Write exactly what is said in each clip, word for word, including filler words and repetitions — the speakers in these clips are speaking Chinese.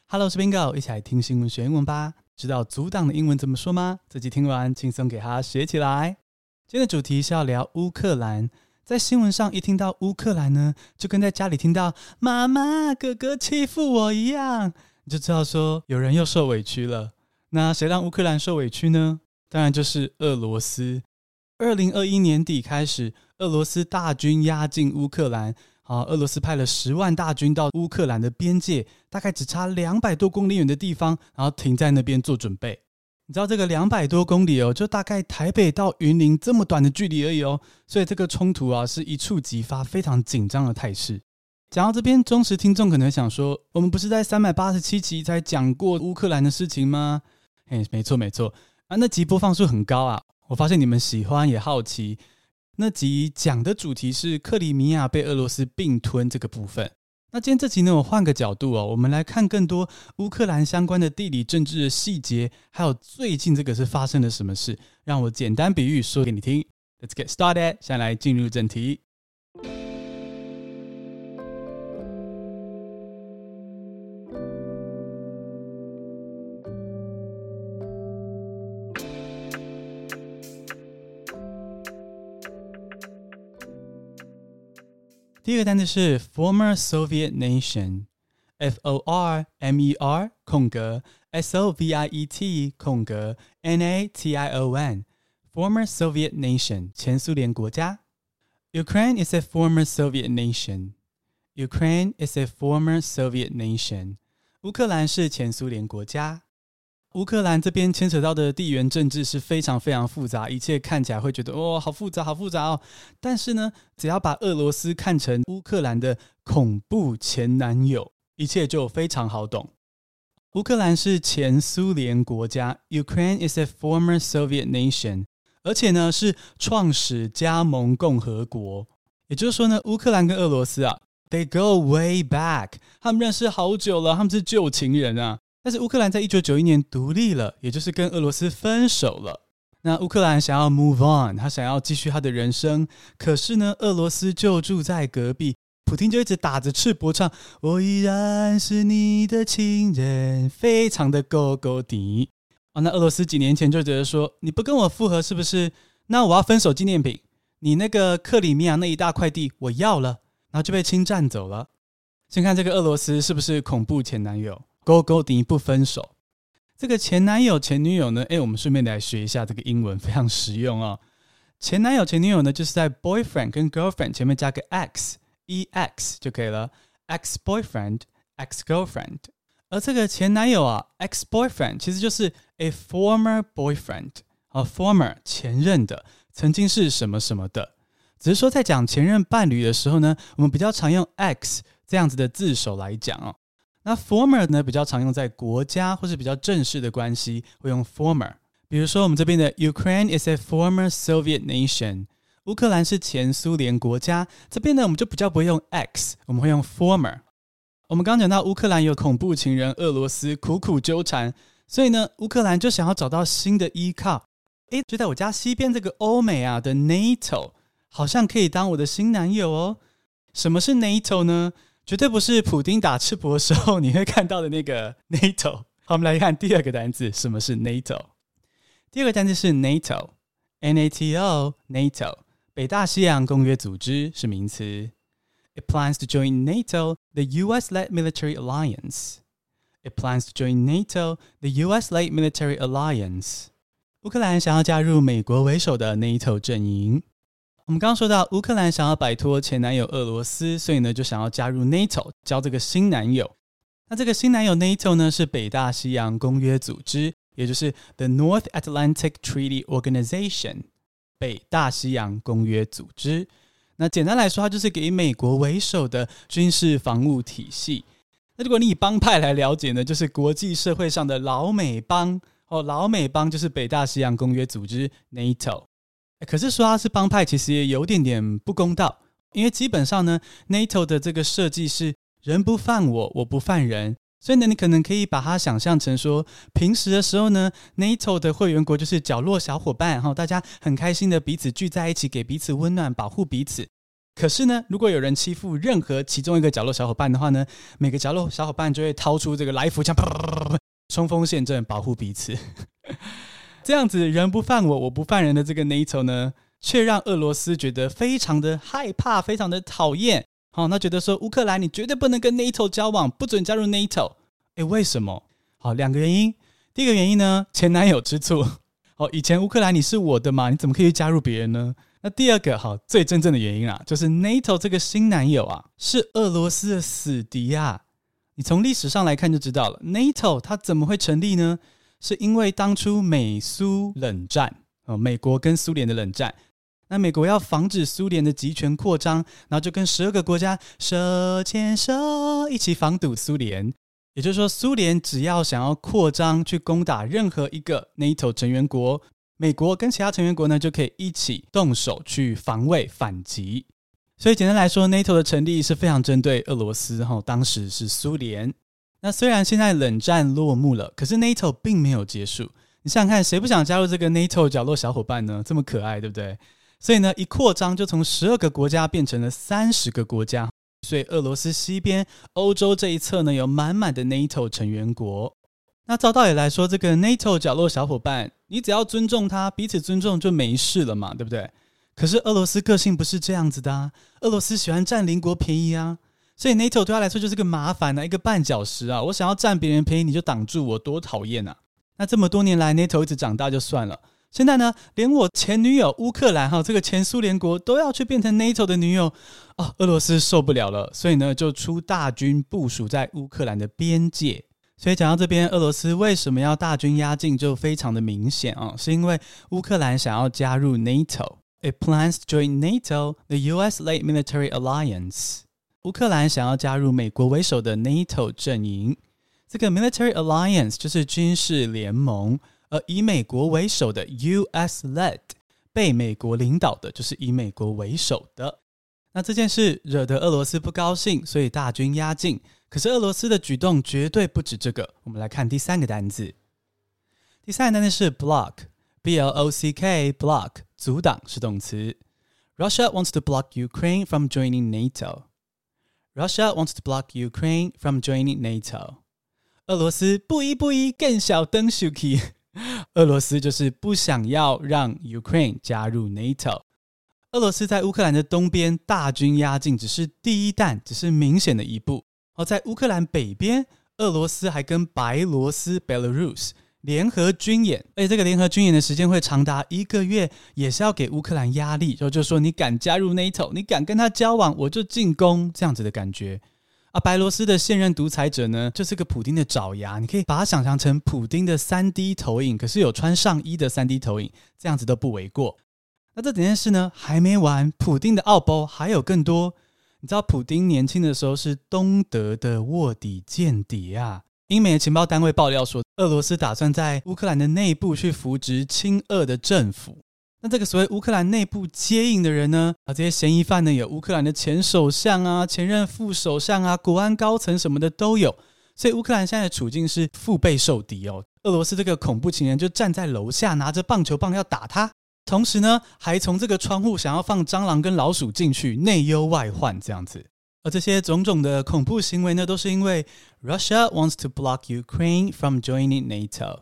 Hello， 我是 Bingo， 一起來聽新聞學英文吧。知道阻擋的英文怎麼說嗎？這集聽完，輕鬆給它學起來。今天的主題是要聊烏克蘭。在新聞上一聽到烏克蘭呢，就跟在家裡聽到媽媽哥哥欺負我一樣，你就知道說有人又受委屈了。那誰讓烏克蘭受委屈呢？當然就是俄羅斯。二零二一年底開始，俄羅斯大軍壓進烏克蘭。好，俄羅斯派了十萬大軍到烏克蘭的邊界，大概只差兩百多公里遠的地方，然後停在那邊做準備。你知道這個兩百多公里哦，就大概台北到雲林這麼短的距離而已哦，所以這個衝突啊是一觸即發，非常緊張的態勢。講到這邊，忠實聽眾可能想說，我們不是在三百八十七集才講過烏克蘭的事情嗎？嘿，沒錯沒錯啊，那集播放數很高啊，我發現你們喜歡也好奇。那集講的主題是克里米亞被俄羅斯併吞這個部分。那今天這集呢，我換個角度哦，我們來看更多烏克蘭相關的地理政治的細節，還有最近這個是發生了什麼事。讓我簡單比喻說給你聽。Let's get started， 現在來進入正題。第一個單詞是 former Soviet nation，F O R M E R 空格 S O V I E T 空格 N A T I O N，former Soviet nation 前蘇聯國家。Ukraine is a former Soviet nation。Ukraine is a former Soviet nation。烏克蘭是前蘇聯國家。烏克蘭這邊牽扯到的地緣政治是非常非常複雜，一切看起來會覺得哦，好複雜好複雜哦。但是呢，只要把俄羅斯看成烏克蘭的恐怖前男友，一切就非常好懂。烏克蘭是前蘇聯國家 Ukraine is a former Soviet nation， 而且呢是創始加盟共和國。也就是說呢，烏克蘭跟俄羅斯啊 They go way back， 他們認識好久了，他們是舊情人啊。但是烏克蘭在一九九一年獨立了，也就是跟俄羅斯分手了。那烏克蘭想要 move on， 他想要繼續他的人生，可是呢，俄羅斯就住在隔壁，普丁就一直打着赤膊唱我依然是你的情人，非常的勾勾底。哦，那俄羅斯幾年前就覺得說，你不跟我復合是不是？那我要分手紀念品，你那個克里米亞那一大塊地我要了，然後就被侵占走了。先看這個俄羅斯是不是恐怖前男友？勾勾底不分手，這個前男友前女友呢？誒，我們順便來學一下這個英文，非常實用哦。前男友前女友呢，就是在 boyfriend 跟 girlfriend 前面加個 x，e x 就可以了 ，ex boyfriend ex girlfriend。而這個前男友啊 ，ex boyfriend 其實就是 a former boyfriend， 啊 former 前任的，曾經是什麼什麼的。只是說在講前任伴侶的時候呢，我們比較常用 ex 這樣子的字首來講哦。那 former 呢，比較常用在國家或是比較正式的關係，會用 former。比如說我們這邊的 Ukraine is a former Soviet nation， 烏克蘭是前蘇聯國家。這邊呢，我們就比較不會用 x， 我們會用 former。我們剛剛講到烏克蘭有恐怖情人俄羅斯苦苦糾纏，所以呢，烏克蘭就想要找到新的依靠。誒，就在我家西邊這個歐美啊的 NATO， 好像可以當我的新男友哦。什麼是 NATO 呢？絕對不是普丁打赤膊的時候你會看到的那個 NATO。好，我們來看第二個單字，什麼是 NATO？ 第二個單字是 NATO，N A T O NATO， 北大西洋公約組織是名詞。It plans to join NATO, the U S-led military alliance. It plans to join NATO, the U S-led military alliance. 烏克蘭想要加入美國為首的 NATO 陣營。我們剛剛說到烏克蘭想要擺脫前男友俄羅斯，所以呢就想要加入 NATO， 交這個新男友。那這個新男友 NATO 呢是北大西洋公約組織，也就是 The North Atlantic Treaty Organization， 北大西洋公約組織。那簡單來說，它就是給美國為首的軍事防務體系。那如果你以幫派來了解呢，就是國際社會上的老美幫哦，老美幫就是北大西洋公約組織 NATO。可是說它是幫派，其實也有點點不公道，因為基本上呢 ，NATO 的這個設計是人不犯我，我不犯人，所以呢，你可能可以把它想象成說，平時的時候呢 ，NATO 的會員國就是角落小夥伴，大家很開心的彼此聚在一起，給彼此溫暖，保護彼此。 可是呢，如果有人欺負任何其中一個角落小夥伴的話呢，每個角落小夥伴就會掏出這個來福槍，衝鋒陷陣，保護彼此。這樣子人不犯我，我不犯人的這個 NATO 呢，卻讓俄羅斯覺得非常的害怕，非常的討厭。好，那覺得說烏克蘭你絕對不能跟 NATO 交往，不准加入 NATO。誒，為什麼？好，兩個原因。第一個原因呢，前男友之醋。好，以前烏克蘭你是我的嘛，你怎麼可以加入別人呢？那第二個，好，最真正的原因啊，就是 NATO 這個新男友啊，是俄羅斯的死敵啊。你從歷史上來看就知道了 ，NATO 它怎麼會成立呢？是因為當初美蘇冷戰，哦，美國跟蘇聯的冷戰。那美國要防止蘇聯的集權擴張，然後就跟十二個國家手牽手一起防堵蘇聯。也就是說，蘇聯只要想要擴張去攻打任何一個 NATO 成員國，美國跟其他成員國呢就可以一起動手去防衛反擊。所以簡單來說 ，NATO 的成立是非常針對俄羅斯，哈，當時是蘇聯。那雖然現在冷戰落幕了，可是 NATO 並沒有結束。你想想看，誰不想加入這個 NATO 角落小夥伴呢？這麼可愛，對不對？所以呢，一擴張就從十二個國家變成了三十個國家，所以俄羅斯西邊歐洲這一側呢，有滿滿的 NATO 成員國。那照道理來說，這個 NATO 角落小夥伴，你只要尊重他，彼此尊重就沒事了嘛，對不對？可是俄羅斯個性不是這樣子的啊，俄羅斯喜歡佔鄰國便宜啊，所以 NATO 對他來說就是個麻煩啊，一個絆腳石啊，我想要佔別人便宜你就擋住我，多討厭啊！那這麼多年來 NATO 一直長大就算了，現在呢，連我前女友烏克蘭哈，這個前蘇聯國都要去變成 NATO 的女友哦，俄羅斯受不了了，所以呢就出大軍部署在烏克蘭的邊界。所以講到這邊，俄羅斯為什麼要大軍壓境就非常的明顯啊，是因為烏克蘭想要加入 NATO。It plans to join NATO, the U S-led military alliance. 烏克蘭想要加入美國為首的 NATO 陣營。這個 military alliance 就是軍事聯盟，而以美國為首的 U S-led 被美國領導的，就是以美國為首的。那這件事惹得俄羅斯不高興，所以大軍壓境。可是俄羅斯的舉動絕對不止這個。我們來看第三個單字。第三個單字是 block。B L O C K, block, 阻擋是動詞。Russia wants to block Ukraine from joining NATO. Russia wants to block Ukraine from joining NATO. 俄羅斯不依不依，更小燈 Shuki。俄羅斯就是不想要讓 Ukraine 加入 NATO。俄羅斯在烏克蘭的東邊大軍壓境，只是第一彈，只是明顯的一步。而在烏克蘭北邊，俄羅斯還跟白羅斯 Belarus聯合軍演，而且這個聯合軍演的時間會長達一個月，也是要給烏克蘭壓力，就就說你敢加入 NATO， 你敢跟他交往，我就進攻，這樣子的感覺。啊，白羅斯的現任獨裁者呢，就是個普丁的爪牙，你可以把它想象成普丁的 三 D 投影，可是有穿上衣的 三 D 投影，這樣子都不為過。那這整件事呢還沒完，普丁的奧包還有更多。你知道普丁年輕的時候是東德的臥底間諜啊。英美的情報單位爆料說，俄羅斯打算在烏克蘭的內部去扶植親俄的政府。那這個所謂烏克蘭內部接應的人呢，啊，這些嫌疑犯呢，有烏克蘭的前首相啊、前任副首相啊、國安高層什麼的都有。所以烏克蘭現在的處境是腹背受敵哦。俄羅斯這個恐怖情人就站在樓下，拿着棒球棒要打他，同時呢，還從這個窗戶想要放蟑螂跟老鼠進去，內憂外患這樣子。而這些種種的恐怖行為呢，都是因為 Russia wants to block Ukraine from joining NATO.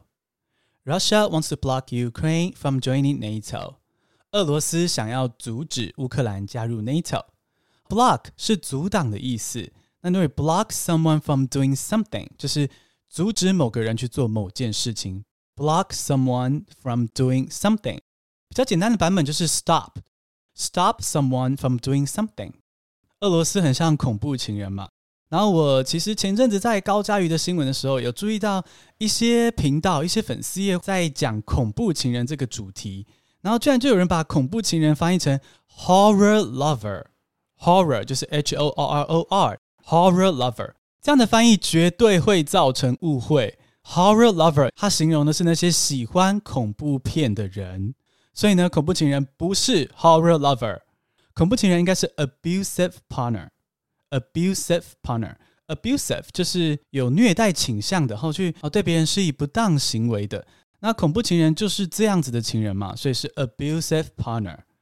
Russia wants to block Ukraine from joining NATO. 俄羅斯想要阻止烏克蘭加入 NATO. Block 是阻擋的意思。那因為 block someone from doing something 就是阻止某個人去做某件事情。Block someone from doing something. 比較簡單的版本就是 stop. Stop someone from doing something.俄羅斯很像恐怖情人嘛，然後我其實前陣子在高嘉瑜的新聞的時候，有注意到一些頻道、一些粉絲頁在講恐怖情人這個主題，然後居然就有人把恐怖情人翻譯成 horror lover，horror 就是 H O R R O R，horror lover， 這樣的翻譯絕對會造成誤會。horror lover 它形容的是那些喜歡恐怖片的人，所以呢，恐怖情人不是 horror lover。恐怖情人應該是 abusive partner，abusive partner，abusive 就是有虐待傾向的，然後去哦對別人施以不當行為的。那恐怖情人就是這樣子的情人嘛，所以是 abusive partner。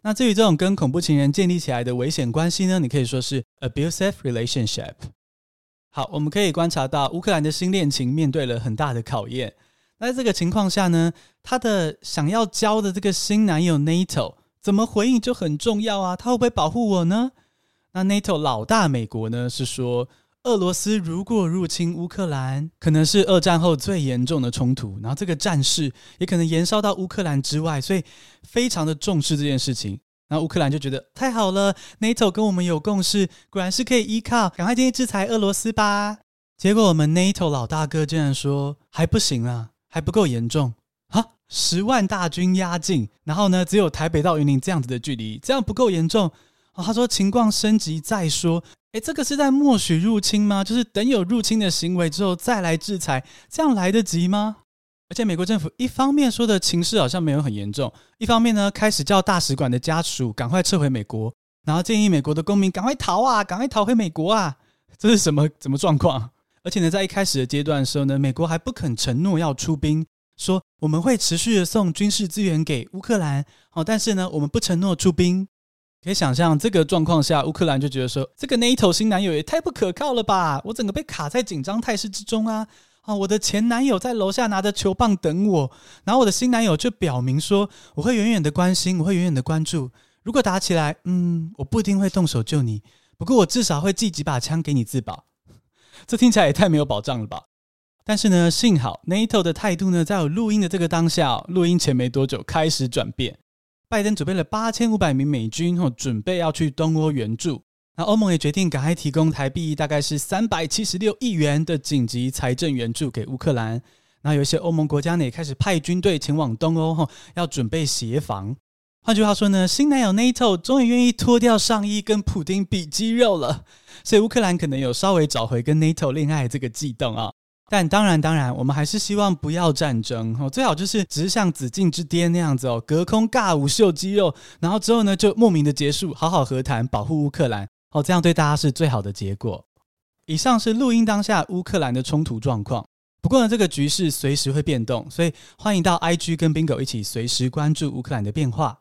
那至於這種跟恐怖情人建立起來的危險關係呢，你可以說是 abusive relationship。好，我們可以觀察到烏克蘭的新戀情面對了很大的考驗。那在這個情況下呢，他的想要交的這個新男友 NATO 怎麼回應就很重要啊，他會不會保護我呢？那 NATO 老大美國呢是說，俄羅斯如果入侵烏克蘭，可能是二戰後最嚴重的衝突，然後這個戰事也可能延燒到烏克蘭之外，所以非常的重視這件事情。然後烏克蘭就覺得太好了， NATO 跟我們有共識，果然是可以依靠，趕快建議制裁俄羅斯吧。結果我們 NATO 老大哥竟然說還不行啊，還不夠嚴重啊！十萬大軍壓境，然後呢只有台北到雲林這樣子的距離，這樣不夠嚴重。哦，他說情況升級再說。誒，這個是在默許入侵嗎？就是等有入侵的行為之後再來制裁，這樣來得及嗎？而且美國政府一方面說的情勢好像沒有很嚴重，一方面呢開始叫大使館的家屬趕快撤回美國，然後建議美國的公民趕快逃啊，趕快逃回美國啊！這是什麼什麼狀況？而且呢，在一開始的階段的時候呢，美國還不肯承諾要出兵，說我們會持續的送軍事資源給烏克蘭，哦，但是呢，我們不承諾出兵。可以想象這個狀況下，烏克蘭就覺得說，這個 NATO 新男友也太不可靠了吧！我整個被卡在緊張態勢之中啊！啊，我的前男友在樓下拿着球棒等我，然後我的新男友就表明說，我會遠遠的關心，我會遠遠的關注。如果打起來，嗯，我不一定會動手救你，不過我至少會寄幾把槍給你自保。這聽起來也太沒有保障了吧！但是呢，幸好 NATO 的態度呢，在我錄音的這個當下，哦，錄音前沒多久開始轉變。拜登準備了八千五百名美軍，哦，準備要去東歐援助。那歐盟也決定趕快提供台幣大概是三百七十六億元的緊急財政援助給烏克蘭。那有一些歐盟國家呢也開始派軍隊前往東歐，哦，要準備協防。換句話說呢，新男友 NATO 終於願意脫掉上衣跟普丁比肌肉了，所以烏克蘭可能有稍微找回跟 NATO 戀愛這個悸動啊。但當然當然我們還是希望不要戰爭，哦，最好就是只是像紫禁之巔那樣子哦，隔空尬舞秀肌肉，然後之後呢就莫名的結束，好好和談，保護烏克蘭，哦，這樣對大家是最好的結果。以上是錄音當下烏克蘭的衝突狀況，不過呢這個局勢隨時會變動，所以歡迎到 I G 跟 Bingo 一起隨時關注烏克蘭的變化。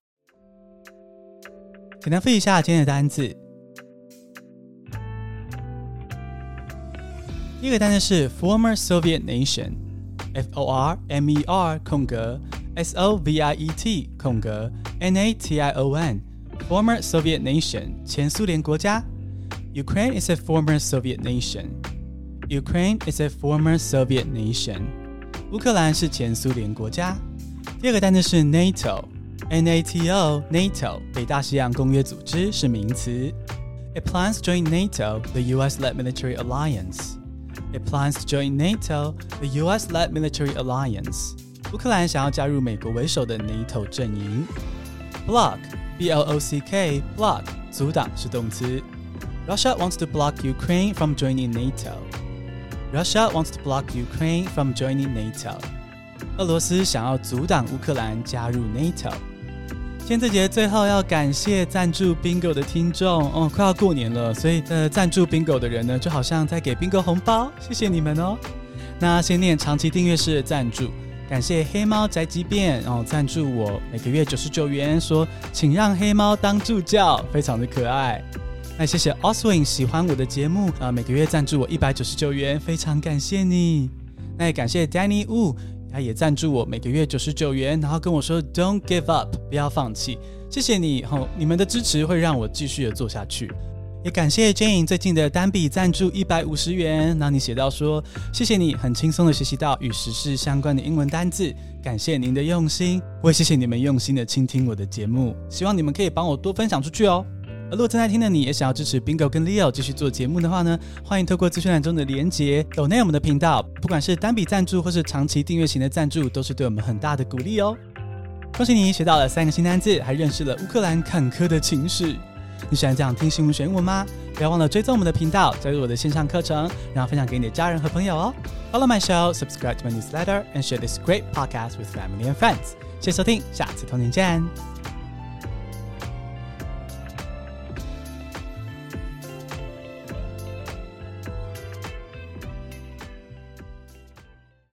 簡單複習一下今天的單字。第一個單詞是 former Soviet nation， F O R M E R 空格 S O V I E T 空格 N A T I O N former Soviet nation 前蘇聯國家。 Ukraine is a former Soviet nation. Ukraine is a former Soviet nation. 烏克蘭是前蘇聯國家。第二個單詞是 NATO， N A T O NATO 北大西洋公約組織是名詞。It plans to join NATO, the U S-led military alliance.It plans to join NATO, the U S-led military alliance. 烏克蘭想要加入美國為首的 NATO 陣營。Block, B L O C K, block 阻擋是動詞。Russia wants to block Ukraine from joining NATO. Russia wants to block Ukraine from joining NATO. 俄羅斯想要阻擋烏克蘭加入 NATO。今天這節最後要感謝贊助 Bingo 的聽眾哦，快要過年了，所以呃，贊助 Bingo 的人呢，就好像在給 Bingo 紅包，謝謝你們哦。那先念長期訂閱式的贊助，感謝黑貓宅急便哦，贊助我每個月九十九元，說請讓黑貓當助教，非常的可愛。那謝謝 Oswin 喜歡我的節目啊，每個月贊助我一百九十九元，非常感謝你。那也感謝 Danny Wu。他也贊助我每個月九十九元，然後跟我說 Don't give up， 不要放棄，謝謝你，哦，你們的支持會讓我繼續的做下去。也感謝 Jane 最近的單筆贊助一百五十元，然後你寫到說謝謝你很輕鬆的學習到與時事相關的英文單字，感謝您的用心，我也謝謝你們用心的傾聽我的節目，希望你們可以幫我多分享出去哦。而如果正在聽的你也想要支持 Bingo 跟 Leo 繼續做節目的話呢，歡迎透過資訊欄中的連結抖內我們的頻道，不管是單筆贊助或是長期訂閱型的贊助，都是對我們很大的鼓勵哦。恭喜你學到了三個新單字，還認識了烏克蘭坎坷的情史。你喜歡這樣聽新聞學英文嗎？不要忘了追蹤我們的頻道，加入我的線上課程，然後分享給你的家人和朋友哦。Follow my show, subscribe to my newsletter, and share this great podcast with family and friends. 謝謝收聽，下次同年見。